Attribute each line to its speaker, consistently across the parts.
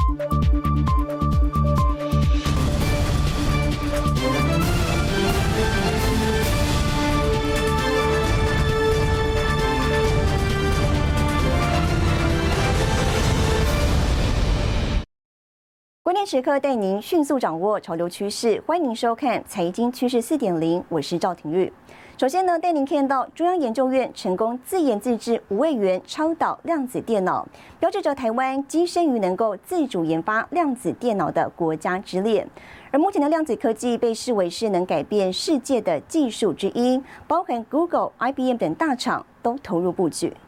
Speaker 1: 关键时刻带您迅速掌握潮流趋势，欢迎您收看《财经趋势4.0》，我是赵廷玉。首先呢，带您看到中央研究院成功自研自制5位元超导量子电脑，标志着台湾跻身于能够自主研发量子电脑的国家之列。而目前的量子科技被视为是能改变世界的技术之一，包含 Google、IBM 等大厂都投入布局。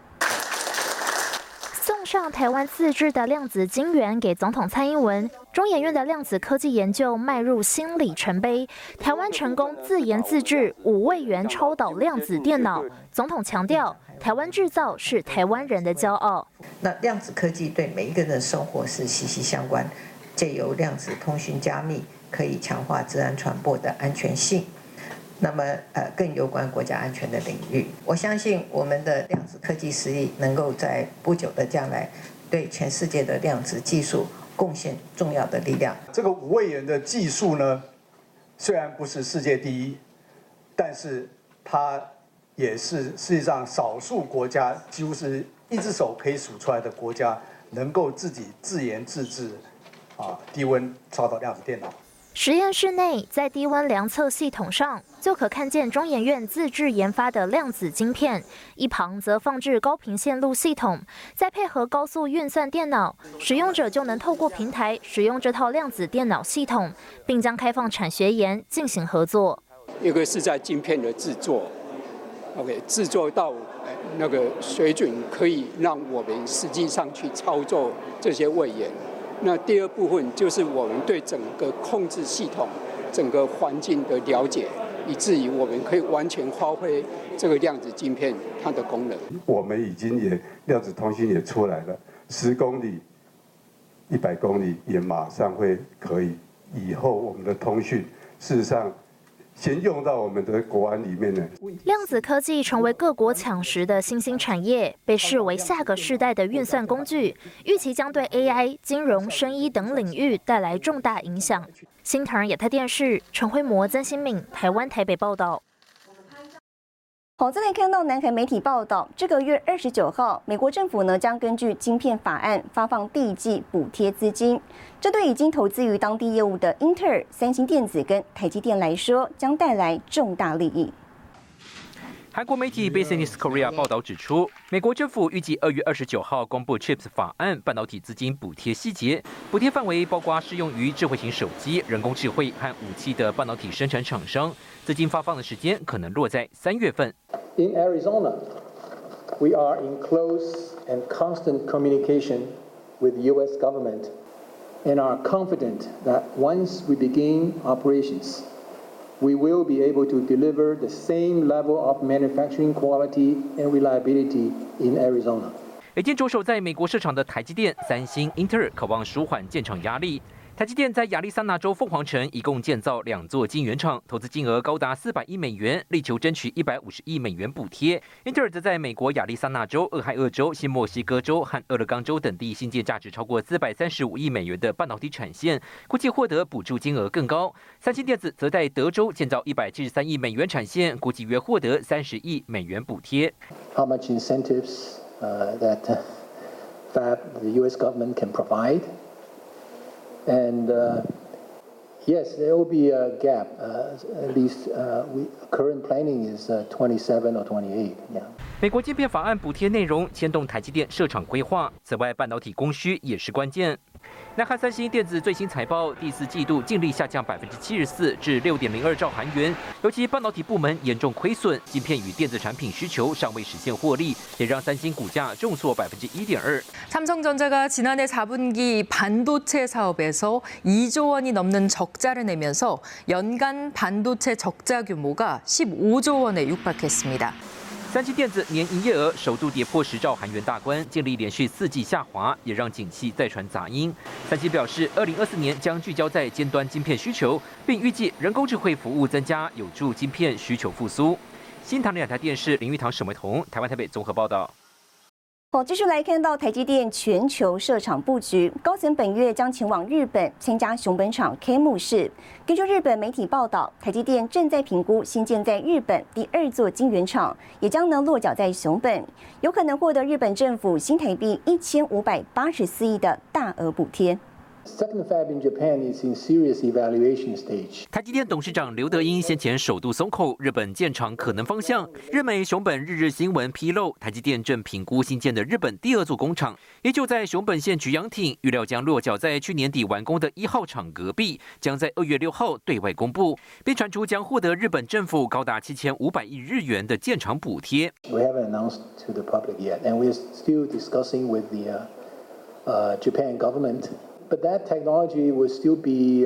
Speaker 2: 送上台湾自制的量子晶圆给总统蔡英文，中研院的量子科技研究迈入新里程碑。台湾成功自研自制5位元超导量子电脑，总统强调，台湾制造是台湾人的骄傲。
Speaker 3: 那量子科技对每一个人的生活是息息相关，借由量子通讯加密，可以强化资安传播的安全性。那么更有关国家安全的领域，我相信我们的量子科技实力能够在不久的将来对全世界的量子技术贡献重要的力量。
Speaker 4: 这个5位元的技术呢，虽然不是世界第一，但是它也是世界上少数国家，几乎是一只手可以数出来的国家，能够自己自研自制低温超导量子电脑。
Speaker 2: 实验室内，在低温量测系统上，就可看见中研院自制研发的量子晶片，一旁则放置高频线路系统，再配合高速运算电脑，使用者就能透过平台使用这套量子电脑系统，并将开放产学研进行合作。
Speaker 5: 一个是在晶片的制作 ，OK， 制作到那个水准，可以让我们实际上去操作这些位元。那第二部分就是我们对整个控制系统、整个环境的了解，以至于我们可以完全发挥这个量子晶片它的功能。
Speaker 6: 我们已经量子通信也出来了，10公里、100公里也马上会可以。以后我们的通讯，事实上先用到我们的国安里面呢。
Speaker 2: 量子科技成为各国抢食的新兴产业，被视为下个世代的运算工具，预期将对 AI、金融、生医等领域带来重大影响。新唐人亚太电视陈辉模、曾新敏，台湾台北报道。
Speaker 1: 好，再来看到南韩媒体报道，这个月29号，美国政府呢将根据晶片法案发放第一季补贴资金，这对已经投资于当地业务的英特尔、三星电子跟台积电来说，将带来重大利益。
Speaker 7: 韩国媒体 Business Korea 报道指出，美国政府预计2月29号公布 CHIPS 法案半导体资金补贴细节，补贴范围包括适用于智慧型手机、人工智慧和武器的半导体生产厂商。资金发放的时间可能落在3月份。
Speaker 8: In Arizona, we are in close and constant communication with the U.S. government, and are confident that once we begin operations, we will be able to deliver the same level of manufacturing quality and reliability in Arizona.
Speaker 7: 已经着手在美国设厂的台积电、三星、英特尔渴望舒缓建厂压力。台积电在亚利桑那州凤凰城一共建造2座晶圆厂，投资金额高达400亿美元，力求争取150亿美元补贴。英特尔则在美国亚利桑那州、俄亥俄州、新墨西哥州和俄勒冈州等地新建价值超过435亿美元的半导体产线，估计获得补助金额更高。三星电子则在德州建造173亿美元产线，估计约获得30亿美元补贴。
Speaker 8: How much incentives that the U.S. government can provide? And yes, there will be a gap. At least current planning is 27 or 28. Yeah.
Speaker 7: 美国晶片法案补贴内容牵动台积电设厂规划，此外半导体供需也是关键。南韩三星电子最新财报，第4季度净利下降74%至6.02兆韩元，尤其半导体部门严重亏损，晶片与电子产品需求尚未实现获利，也让三星股价重挫1.2%。
Speaker 9: 삼성전자가 지난해 4분기 반도체 사업에서 2조 원이 넘는 적자를 내면서 연간 반도체 적자 규모가 15조 원에 육박했습니다.
Speaker 7: 三星电子年营业额首度跌破10兆韩元大关，净利连续4季下滑，也让景气再传杂音。三星表示，2024年将聚焦在尖端晶片需求，并预计人工智慧服务增加，有助晶片需求复苏。新唐人亚太电视林玉堂、沈维彤，台湾台北综合报道。
Speaker 1: 好，继续来看到台积电全球设厂布局，高层本月将前往日本参加熊本厂开幕式。根据日本媒体报道，台积电正在评估新建在日本第2座晶圆厂，也将能落脚在熊本，有可能获得日本政府新台币1584亿的大额补贴。
Speaker 8: Second fab in Japan is in serious evaluation stage.
Speaker 7: 台积电董事长刘德英先前首度松口日本建厂可能方向。日媒熊本日日新闻披露，台积电正评估新建的日本第2座工厂，也就在熊本县菊阳町，预料将落脚在去年底完工的1号厂隔壁，将在2月6号对外公布，并传出将获得日本政府高达7500亿日元的建厂补贴。
Speaker 8: We haven't announced to the public yet, and we're still discussing with the Japan government. But that technology will still be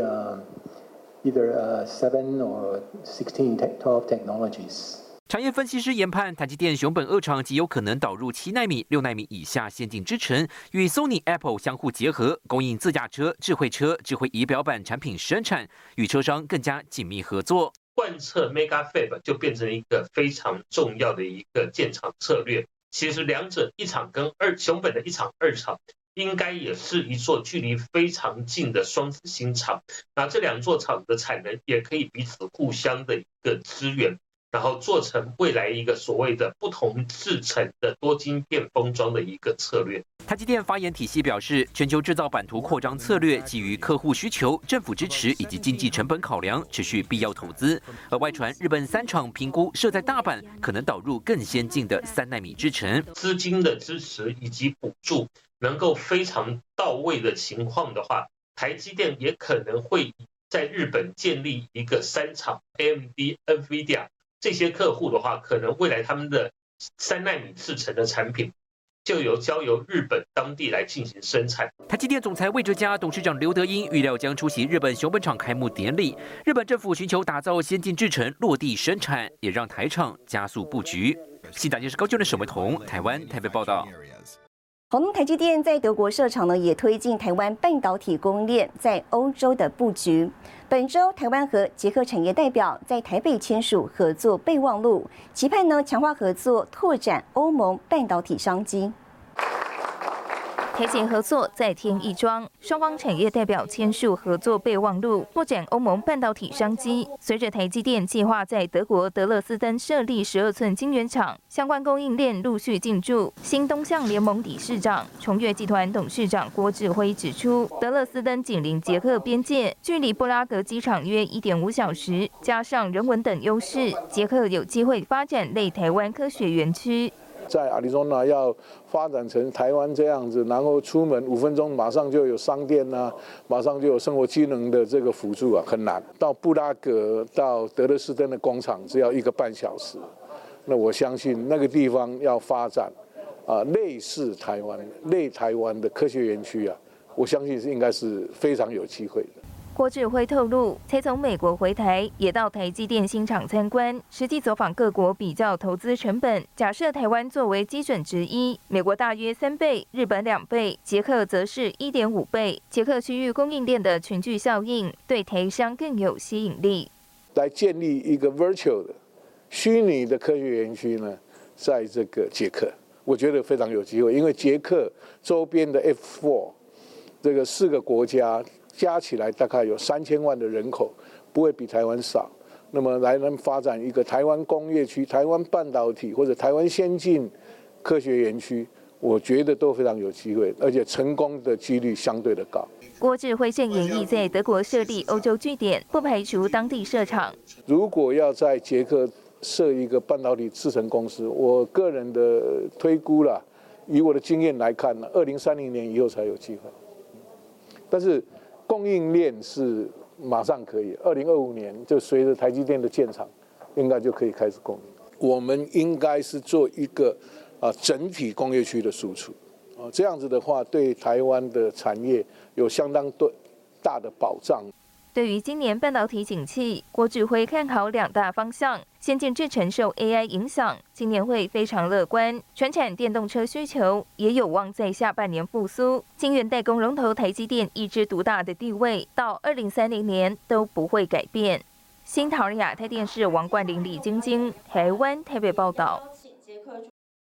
Speaker 8: either 7 or 16, 12 technologies.
Speaker 7: 产业分析师研判，台积电熊本2厂极有可能导入7奈米、6奈米以下先进制程，与 Sony、Apple 相互结合，供应自驾车、智慧车、智慧仪表板产品生产，与车商更加紧密合作。
Speaker 10: 贯彻 Mega Fab 就变成一个非常重要的一个建厂策略。其实两者1厂跟熊本的1厂、2厂。应该也是一座距离非常近的双子星厂，那这2座厂的产能也可以彼此互相的一个支援，然后做成未来一个所谓的不同制程的多晶片封装的一个策略。
Speaker 7: 台积电发言体系表示，全球制造版图扩张策略基于客户需求、政府支持以及经济成本考量，持续必要投资。而外传日本3厂评估设在大阪，可能导入更先进的3奈米制程。
Speaker 10: 资金的支持以及补助能够非常到位的情况的话，台积电也可能会在日本建立一个3厂 AMD、NVIDIA 这些客户的话，可能未来他们的3奈米制程的产品就交由日本当地来进行生产。
Speaker 7: 台积电总裁魏哲嘉、董事长刘德英预料将出席日本熊本厂开幕典礼。日本政府寻求打造先进制程落地生产，也让台厂加速布局。新大电视高雄的沈维彤，台湾台北报道。
Speaker 1: 好，那么台积电在德国设厂呢，也推进台湾半导体供应链在欧洲的布局。本周，台湾和捷克产业代表在台北签署合作备忘录，期盼呢强化合作，拓展欧盟半导体商机。
Speaker 11: 台捷合作再添一桩，双方产业代表签署合作备忘录，拓展欧盟半导体商机。随着台积电计划在德国德勒斯登设立12寸晶圆厂，相关供应链陆续进驻。新东向联盟理事长、崇越集团董事长郭志辉指出，德勒斯登紧邻捷克边界，距离布拉格机场约1.5小时，加上人文等优势，捷克有机会发展类台湾科学园区。
Speaker 12: 在亚利桑那要发展成台湾这样子，然后出门5分钟马上就有商店啊，马上就有生活机能的这个辅助啊，很难。到布拉格到德勒斯登的工厂只要1个半小时，那我相信那个地方要发展类似台湾的科学园区啊，我相信应该是非常有机会的。
Speaker 11: 郭志辉透露，才从美国回台，也到台积电新厂参观，实际走访各国比较投资成本。假设台湾作为基准之一，美国大约3倍，日本2倍，捷克则是1.5倍。捷克区域供应链的群聚效应，对台商更有吸引力。
Speaker 12: 来建立一个 virtual 的虚拟的科学园区呢，在这个捷克，我觉得非常有机会，因为捷克周边的 F4这个4个国家。加起来大概有3000万的人口，不会比台湾少。那么来能发展一个台湾工业区、台湾半导体或者台湾先进科学园区，我觉得都非常有机会，而且成功的几率相对的高。
Speaker 11: 郭志辉正研议在德国设立欧洲据点，不排除当地设厂。
Speaker 12: 如果要在捷克设一个半导体制程公司，我个人的推估啦，以我的经验来看呢，2030年以后才有机会。但是供应链是马上可以，2025年就随着台积电的建厂，应该就可以开始供应。我们应该是做一个整体工业区的输出，这样子的话，对台湾的产业有相当大的保障。
Speaker 11: 对于今年半导体景气，郭志辉看好2大方向。先进制程受 AI 影响，今年会非常乐观。传产电动车需求也有望在下半年复苏。晶圆代工龙头台积电一枝独大的地位，到2030年都不会改变。新桃亚太电视王冠霖、李晶晶，台湾台北报道。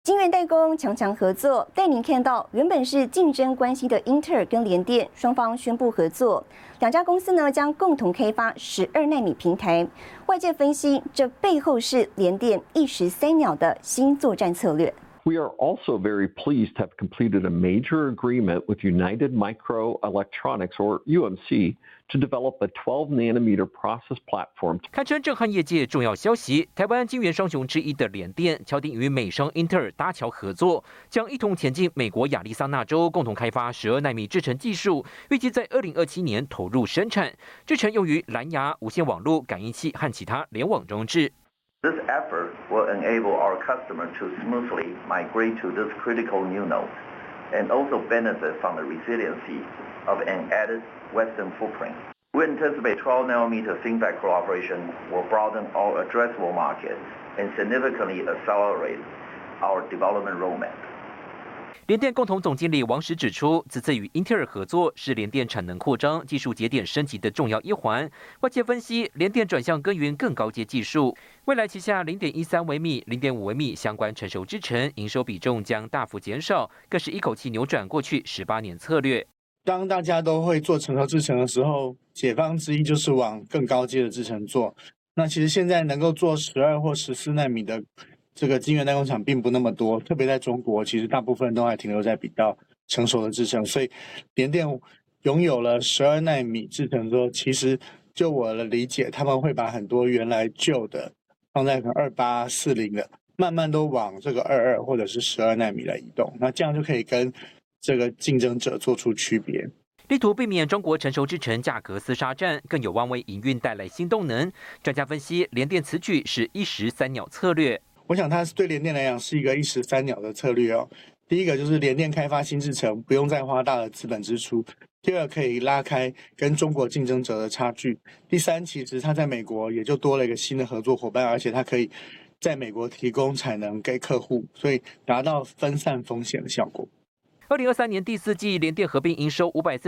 Speaker 1: 晶圆代工强合作，带您看到原本是竞争关系的英特尔跟联电双方宣布合作，两家公司呢将共同开发12奈米平台。外界分析，这背后是联电一石三鸟的新作战策略。
Speaker 13: We are also very pleased to have completed a major agreement with United Microelectronics, or UMC, to develop a 12-nanometer process platform.
Speaker 7: 堪称震撼业界重要消息，台湾晶圆双雄之一的联电敲定与美商英特尔搭桥合作，将一同前进美国亚利桑那州，共同开发12奈米制程技术，预计在2027年投入生产。制程用于蓝牙、无线网络、感应器和其他联网装置。
Speaker 14: This effort will enable our customers to smoothly migrate to this critical new node and also benefit from the resiliency of an added Western footprint. We anticipate 12-nanometer FinFET cooperation will broaden our addressable market and significantly accelerate our development roadmap.
Speaker 7: 联电共同总经理王石指出，此次与英特尔合作是联电产能扩张、技术节点升级的重要一环。外界分析，联电转向耕耘更高阶技术，未来旗下0.13微米、0.5微米相关成熟制程营收比重将大幅减少，更是一口气扭转过去18年策略。
Speaker 15: 当大家都会做成熟制程的时候，解方之一就是往更高阶的制程做。那其实现在能够做12或14奈米的这个晶圆代工厂并不那么多，特别在中国，其实大部分都还停留在比较成熟的制程，所以联电拥有了12奈米制程之后，其实就我的理解，他们会把很多原来旧的放在可能2840的，慢慢都往这个22或者是12奈米来移动，那这样就可以跟这个竞争者做出区别。
Speaker 7: 力图避免中国成熟制程价格厮杀战，更有望为营运带来新动能。专家分析，联电此举是一石三鸟策略。
Speaker 15: 我想它对联电来讲是一个一石三鸟的策略哦。第一个就是联电开发新制程，不用再花大的资本支出；第二，可以拉开跟中国竞争者的差距；第三，其实它在美国也就多了一个新的合作伙伴，而且它可以在美国提供产能给客户，所以达到分散风险的效果。
Speaker 7: 2023年第4季，联电合并营收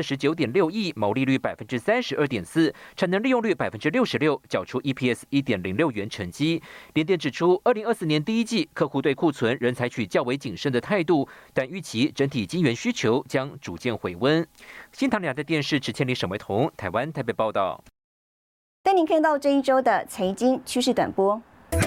Speaker 7: 549.6亿，毛利率32.4%，产能利用率66%，缴出 EPS 1.06元成绩。联电指出，2024年第1季客户对库存仍采取较为谨慎的态度，但预期整体晶圆需求将逐渐回温。新唐亚的电视池千里、沈维彤，台湾台北报道。
Speaker 1: 带您看到这一周的财经趋势短波。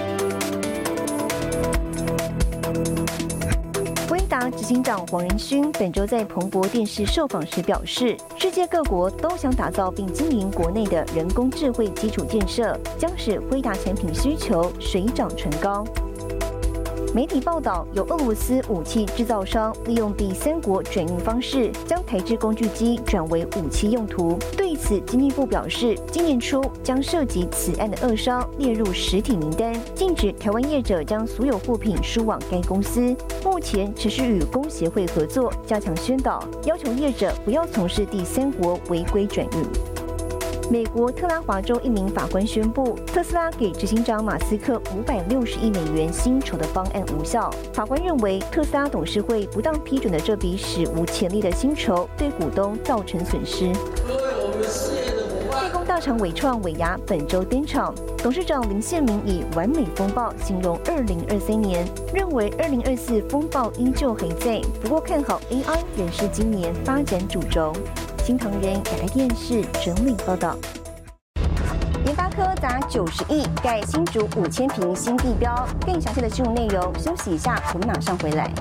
Speaker 1: 威达执行长黄仁勋本周在彭博电视受访时表示，世界各国都想打造并经营国内的人工智慧基础建设，将使威达产品需求水涨船高。媒体报道，有俄罗斯武器制造商利用第三国转运方式，将台制工具机转为武器用途。对此，经济部表示，今年初将涉及此案的俄商列入实体名单，禁止台湾业者将所有货品输往该公司。目前持续与工协会合作，加强宣导，要求业者不要从事第三国违规转运。美国特拉华州一名法官宣布，特斯拉给执行长马斯克560亿美元薪酬的方案无效。法官认为，特斯拉董事会不当批准的这笔史无前例的薪酬，对股东造成损失。代工大厂伟创伟牙本周登场，董事长林宪明以完美风暴形容2023年，认为2024风暴依旧还在，不过看好 AI 仍是今年发展主轴。新唐人亚太电视整理报道。联发科砸90亿盖新竹5000坪新地标，更详细的新闻内容，休息一下，我们马上回来。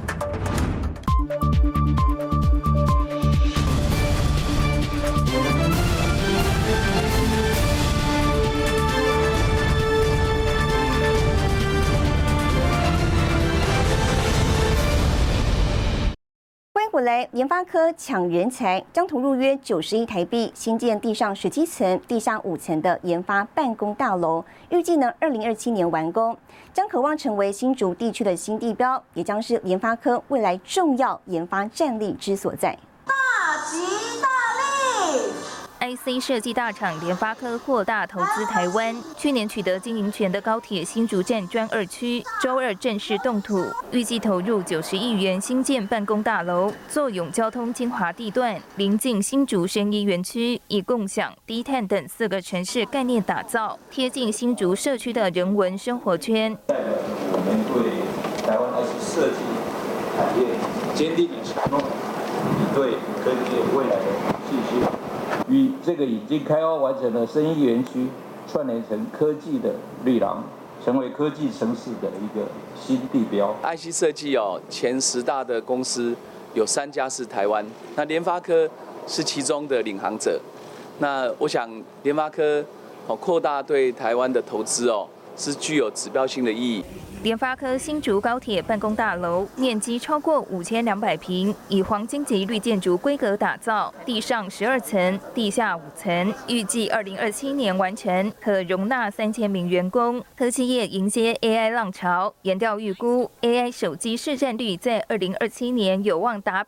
Speaker 1: 回来，联发科抢人才，将投入约90亿台币新建地上17层、地下5层的研发办公大楼，预计呢2027年完工，将渴望成为新竹地区的新地标，也将是联发科未来重要研发战力之所在。
Speaker 16: 大吉大利！
Speaker 11: IC 设计大厂联发科扩大投资台湾，去年取得经营权的高铁新竹站专2区，周二正式动土，预计投入90亿元新建办公大楼，作永交通精华地段，临近新竹生医园区，以共享、低碳等4个城市概念打造，贴近新竹社区的人文生活圈。
Speaker 17: 我们对台湾IC设计产业坚定的承诺，以对科技未来的信心。与这个已经开发完成的生医园区串联成科技的绿廊，成为科技城市的一个新地标。
Speaker 18: IC 设计前10大的公司有3家是台湾，那联发科是其中的领航者。那我想联发科扩大对台湾的投资是具有指标性的意义。
Speaker 11: 联发科新竹高铁办公大楼面积超过5200平，以黄金级绿建筑规格打造，地上12层，地下5层，预计2027年完成，可容纳3000名员工。科技业迎接 AI 浪潮，研调预估 AI 手机市占率在2027年有望达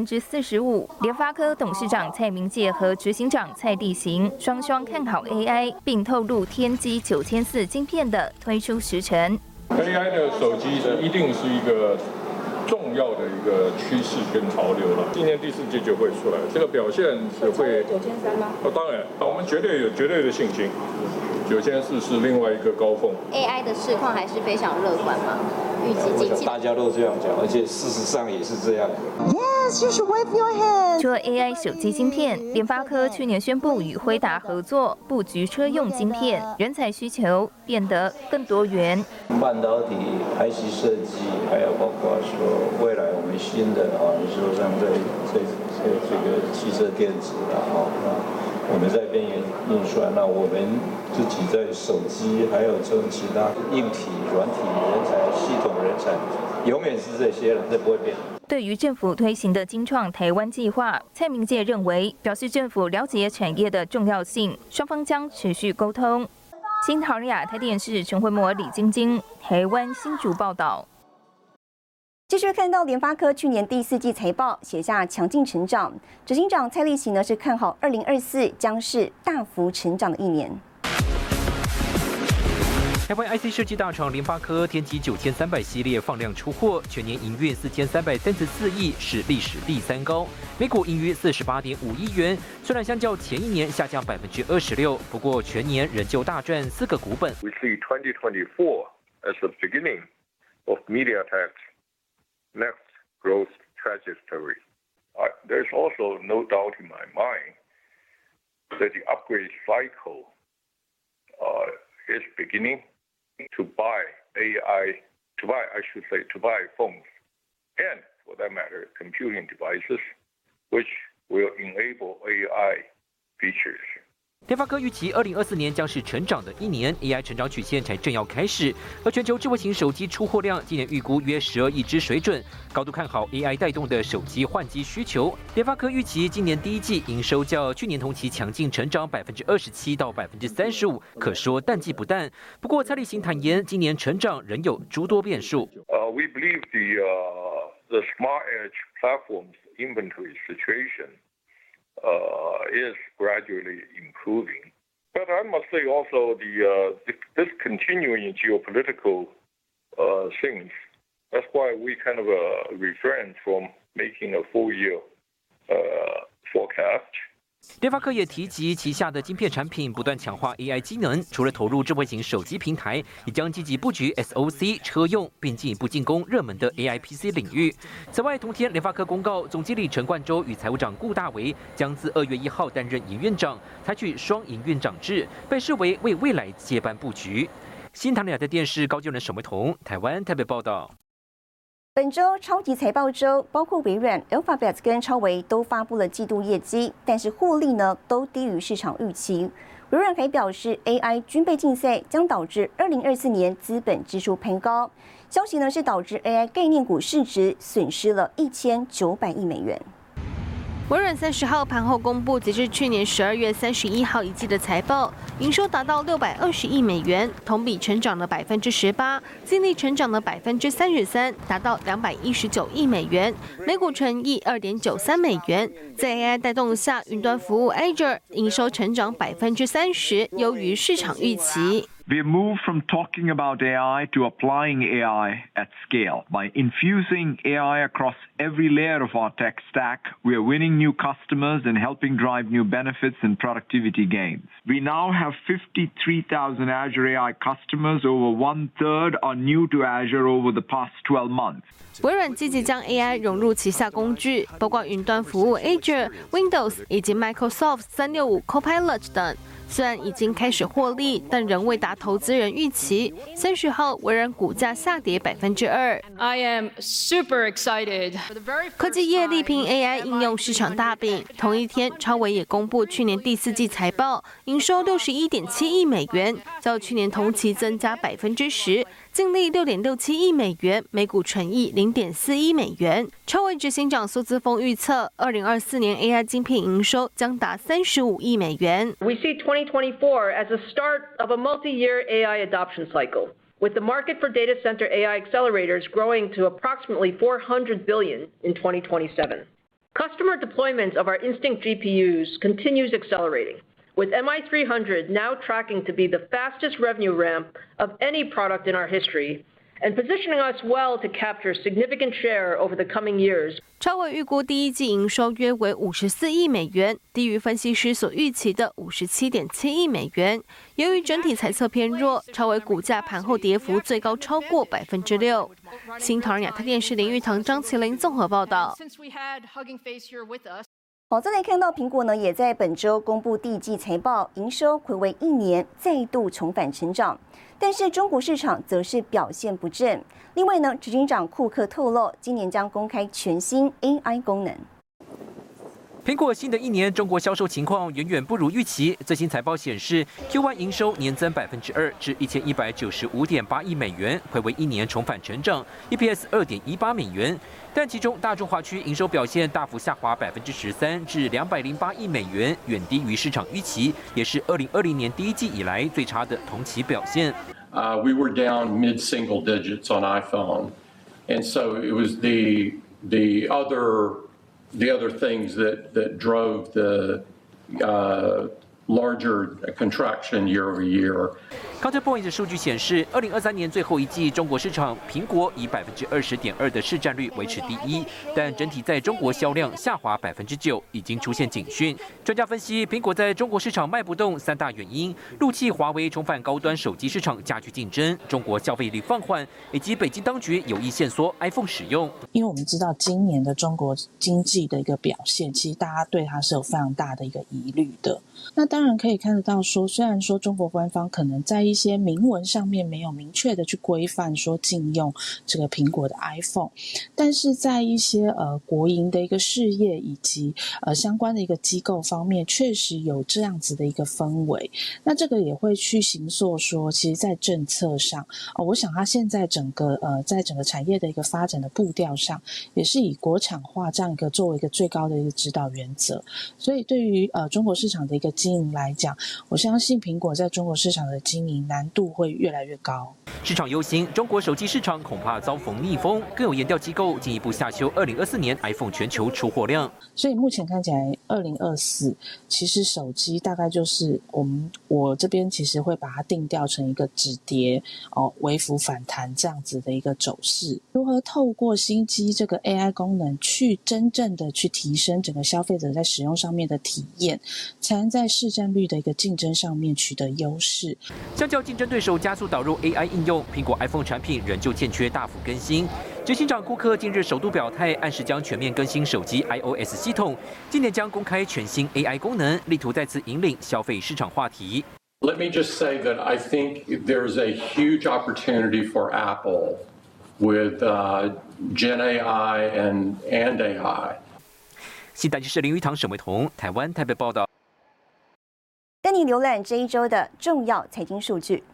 Speaker 11: 45%。联发科董事长蔡明介和执行长蔡地行双双看好 AI， 并透露天玑9400晶片的推出时程。
Speaker 19: AI 的手机一定是一个重要的一个趋势跟潮流了。今年第4季就会出来，这个表现是会9300吗？当然，我们绝对有绝对的信心。9400是另外一个高峰。
Speaker 20: AI 的市况还是非常乐观吗？预计经济
Speaker 17: 大家都这样讲，而且事实上也是这样。
Speaker 11: Yes, you should wave your hand. 除了 AI 手机晶片，联发科去年宣布与辉达合作布局车用晶片，人才需求变得更多元。
Speaker 17: 半导体、IC 设计，还有包括说未来我们新的你说像这个汽车电子我们在边缘运算，那我们自己在手机，还有这种其他硬体、软体人才、系统人才，永远是这些了，这不会变。
Speaker 11: 对于政府推行的精创台湾计划，蔡明介认为，表示政府了解产业的重要性，双方将持续沟通。新唐人亚太电视陈慧模、李晶晶，台湾新竹报道。
Speaker 1: 继续看到联发科去年第4季财报写下强劲成长，执行长蔡力行呢是看好2024将是大幅成长的一年。
Speaker 7: 台湾 IC 设计大厂联发科天玑9300系列放量出货，全年营运4334亿，是历史第3高，每股盈余48.5亿元。虽然相较前一年下降26%，不过全年仍旧大赚4个股本。
Speaker 21: We see 2024 as the beginning of MediaTek's next growth trajectory. There's also no doubt in my mind that the upgrade cycle is beginning to buy phones, and for that matter, computing devices, which will enable AI features.
Speaker 7: 联发科预期2024年将是成长的一年 ，AI 成长曲线才正要开始。而全球智慧型手机出货量今年预估约12亿只水准，高度看好 AI 带动的手机换机需求。联发科预期今年第1季营收较去年同期强劲成长27%到35%，可说淡季不淡。不过蔡力行坦言，今年成长仍有诸多变数。
Speaker 21: We believe the Smart Edge platform's inventory situation is gradually improving. But I must say also this continuing geopolitical things, that's why we kind of refrain from making a full year forecast.
Speaker 7: 联发科也提及旗下的晶片产品不断强化 AI 机能，除了投入智慧型手机平台，也将积极布局 SoC 车用，并进一步进攻热门的 AI PC 领域。此外，同天联发科公告，总经理陈冠洲与财务长顾大为将自2月1号担任营运长，采取双营运长制，被视为为未来接班布局。新唐人亚太电视高就人沈维彤，台湾台北报道。
Speaker 1: 本周超级财报周，包括微软、Alphabet 跟超微都发布了季度业绩，但是获利呢都低于市场预期。微软还表示 ，AI 军备竞赛将导致2024年资本支出攀高。消息呢是导致 AI 概念股市值损失了1900亿美元。
Speaker 22: 微软30号盘后公布，截至去年12月31号一季的财报，营收达到620亿美元，同比成长了18%，净利成长了33%，达到219亿美元，每股纯益2.93美元。在 AI 带动下，云端服务 Azure 营收成长30%，优于市场预期。
Speaker 3: We have moved from talking about AI to applying AI at scale. By infusing AI across every layer of our tech stack, we are winning new customers and helping drive new benefits and productivity gains. We now have 53,000 Azure AI customers. Over 1/3 are new to Azure over the past 12 months.
Speaker 22: 微软积极将 AI 融入旗下工具，包括云端服务 Azure、Windows 以及 Microsoft 365 Copilot 等。虽然已经开始获利，但仍未达投资人预期。30号，微软股价下跌2%。
Speaker 4: I am super excited.
Speaker 22: 科技业力拼 AI 应用市场大饼。同一天，超微也公布去年第4季财报，营收61.7亿美元，较去年同期增加10%，净利6.67亿美元，每股纯益0.4亿美元。超微执行长苏姿丰预测，2024年 AI 晶片营收将达35亿美元。
Speaker 23: We see 2024 as the start of a multi-year AI adoption cycle, with the market for data center AI accelerators growing to approximately $400 billion in 2027. Customer deployment of our Instinct GPUs continues accelerating, with MI300 now tracking to be the fastest revenue ramp of any product in our history, and positioning us well to capture significant share over the coming years.
Speaker 22: 超微预估第一季营收约为54亿美元，低于分析师所预期的57.7亿美元。由于整体财测偏弱，超微股价盘后跌幅最高超过6%。新唐人亚太电视林玉堂、张麒麟综合报道。
Speaker 1: 好，再来看到苹果呢，也在本周公布第一季财报，营收睽违1年再度重返成长，但是中国市场则是表现不振。另外呢，执行长库克透露，今年将公开全新 AI 功能。
Speaker 7: 苹果新的一年中国销售情况远远不如预期。最新财报显示 ，Q1 营收年增2%至1195.8亿美元，睽违1年重返成长 ，EPS 2.18美元。但其中大中华区营收表现大幅下滑13%至208亿美元，远低于市场预期，也是2020年第一季以来最差的同期表现。
Speaker 24: We were down mid-single digits on iPhone, and so it was the other things that drove the larger contraction year over year.
Speaker 7: Counterpoint 数据显示，2023年最后一季中国市场，苹果以20.2%的市占率维持第一，但整体在中国销量下滑9%，已经出现警讯。专家分析，苹果在中国市场卖不动3大原因：陆企华为重返高端手机市场加剧竞争，中国消费力放缓，以及北京当局有意限缩 iPhone 使用。
Speaker 25: 因为我们知道今年的中国经济的一个表现，其实大家对它是有非常大的一个疑虑的。那当然可以看得到说，虽然说中国官方可能在一些明文上面没有明确的去规范说禁用这个苹果的 iPhone， 但是在一些国营的一个事业以及相关的一个机构方面，确实有这样子的一个氛围。那这个也会去形塑说，其实在政策上，我想它现在在整个产业的一个发展的步调上，也是以国产化这样一个作为一个最高的一个指导原则。所以对于中国市场的一个经营来讲，我相信苹果在中国市场的经营难度会越来越高。
Speaker 7: 市场忧心，中国手机市场恐怕遭逢逆风，更有研调机构进一步下修2024年 iPhone 全球出货量。
Speaker 25: 所以目前看起来，2024其实手机大概就是我这边其实会把它定调成一个止跌微幅反弹这样子的一个走势。如何透过新机这个 AI 功能去真正的去提升整个消费者在使用上面的体验，才能在市占率的一个竞争上面取得优势。
Speaker 7: 相较竞争对手加速导入 AI 应用，苹果 iPhone 产品仍旧欠缺大幅更新。执行长库克近日首度表态，暗示将全面更新手机 iOS 系统，今年将公开全新 AI 功能，力图再次引领消费市场话题。
Speaker 21: Let me just say that I think there's a huge opportunity for Apple with Gen AI and AI.
Speaker 7: 新台记者林玉堂、沈维彤，台湾台北报道。
Speaker 1: 带你浏览这一周的重要财经数据。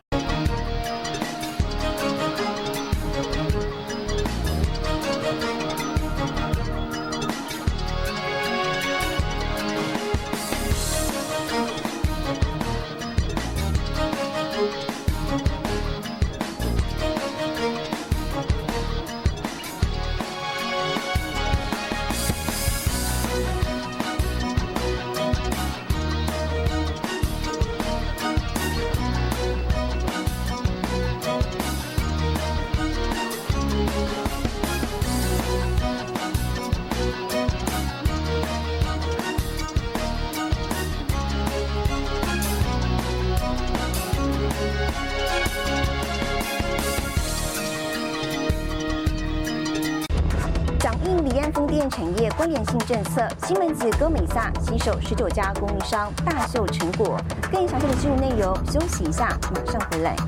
Speaker 1: 电产业关联性政策，西门子、哥美萨携手19家供应商大秀成果。更详细的新闻内容，休息一下，马上回来。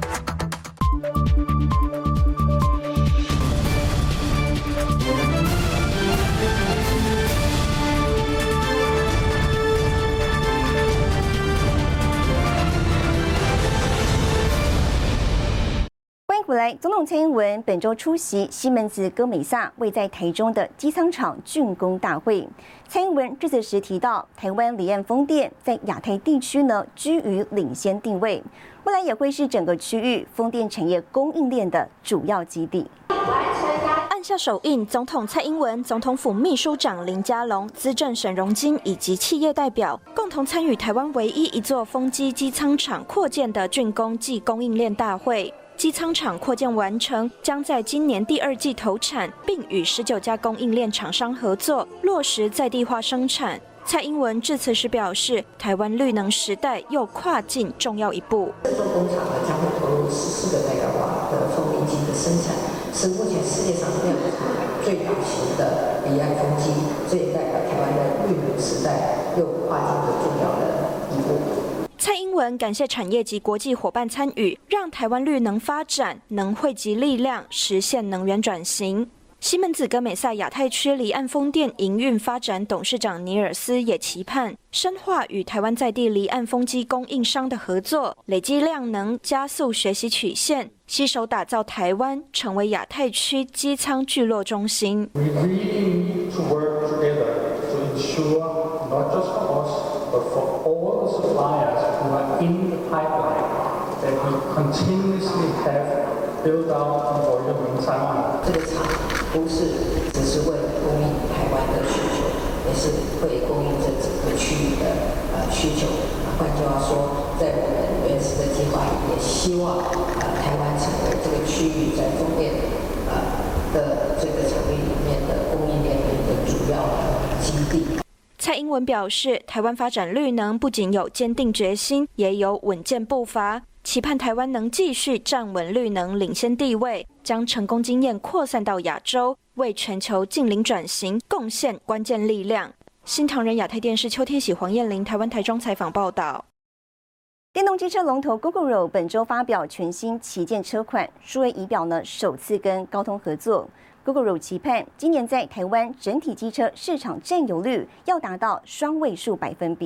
Speaker 1: 欢迎回来，总统蔡英文本周出席西门子、哥美萨位在台中的机舱厂竣工大会。蔡英文致辞时提到，台湾离岸风电在亚太地区呢居于领先地位，未来也会是整个区域风电产业供应链的主要基地。
Speaker 2: 按下手印，总统蔡英文、总统府秘书长林佳龙、资政沈荣金以及企业代表共同参与台湾唯一一座风机机舱厂扩建的竣工暨供应链大会。机舱厂扩建完成，将在今年第2季投产，并与19家供应链厂商合作，落实在地化生产。蔡英文致辞时表示，台湾绿能时代又跨进重要一步。
Speaker 5: 这座工厂呢将会投入14个代表瓦的风力机的生产，是目前世界上量产最大型的离岸风机，这也代表台湾的绿能时代又跨进了重要的一步。
Speaker 2: 蔡英文感谢产业及国际伙伴参与，让台湾绿能发展能汇集力量，实现能源转型。西门子、哥美萨亚太区离岸风电营运发展董事长尼尔斯也期盼深化与台湾在地离岸风机供应商的合作，累积量能，加速学习曲线，携手打造台湾成为亚太区机舱聚落中心。
Speaker 6: We really need to work together to ensure not just for us, but for all the suppliers who are in the pipeline that we continuously have built out volume in Taiwan.
Speaker 5: 这个厂不是只是为了供应台湾的需求，也是会供应这整个区域的需求。换句话说，在我们原始的计划里，也希望台湾成为这个区域在风电的这个场域里面的供应链的一个主要的基地。
Speaker 2: 蔡英文表示，台湾发展绿能不仅有坚定决心，也有稳健步伐，期盼台湾能继续站稳绿能领先地位，将成功经验扩散到亚洲，为全球净零转型贡献关键力量。新唐人亚太电视邱天喜、黄燕玲台湾台中采访报道。
Speaker 1: 电动机车龙头 Gogoro 本周发表全新旗舰车款，数位仪表呢首次跟高通合作。Gogoro 期盼今年在台湾整体机车市场占有率要达到双位数%。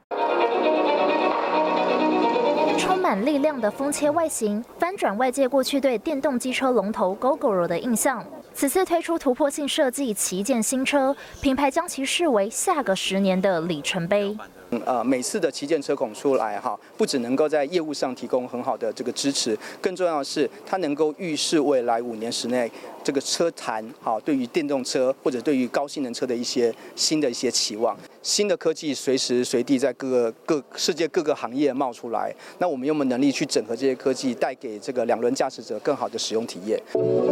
Speaker 8: 充满力量的风切外形，翻转外界过去对电动机车龙头 Gogoro 的印象。此次推出突破性设计旗舰新车，品牌将其视为下个10年的里程碑。
Speaker 9: 每次的旗舰车孔出来不只能够在业务上提供很好的这个支持，更重要的是它能够预示未来5年之内这个车坛对于电动车或者对于高性能车的一些新的一些期望。新的科技随时随地在世界各个行业冒出来，那我们有没有能力去整合这些科技，带给这个2轮驾驶者更好的使用体验？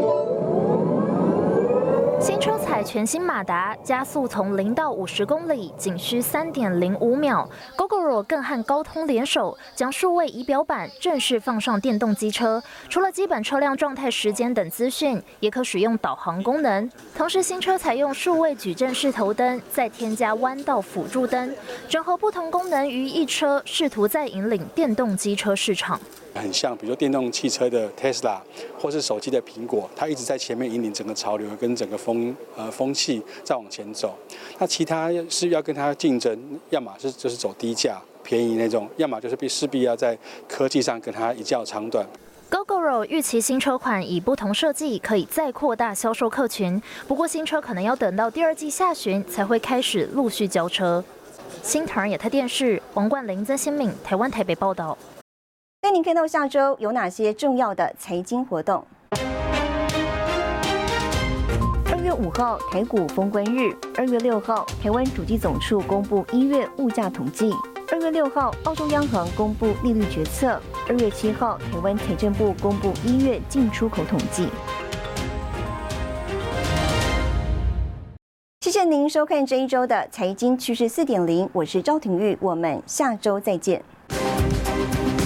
Speaker 8: 新车采全新马达，加速从0到50公里仅需3.05秒。Gogoro 更和高通联手，将数位仪表板正式放上电动机车。除了基本车辆状态、时间等资讯，也可使用导航功能。同时，新车采用数位矩阵式头灯，再添加弯道辅助灯，整合不同功能于一车，试图再引领电动机车市场。
Speaker 26: 很像，比如说电动汽车的 Tesla， 或是手机的苹果，它一直在前面引领整个潮流跟整个风气再往前走。那其他是要跟它竞争，要么就是走低价便宜那种，要么就是势必要在科技上跟它一较长短。
Speaker 8: Gogoro 预期新车款以不同设计可以再扩大销售客群，不过新车可能要等到第2季下旬才会开始陆续交车。新唐人亚太电视王冠玲、曾新敏，台湾台北报道。
Speaker 1: 带您看到下周有哪些重要的财经活动。2月5号台股封关日，2月6号台湾主计总处公布1月物价统计，2月6号澳洲央行公布利率决策，2月7号台湾财政部公布1月进出口统计。谢谢您收看这一周的财经趋势4.0，我是赵廷玉，我们下周再见。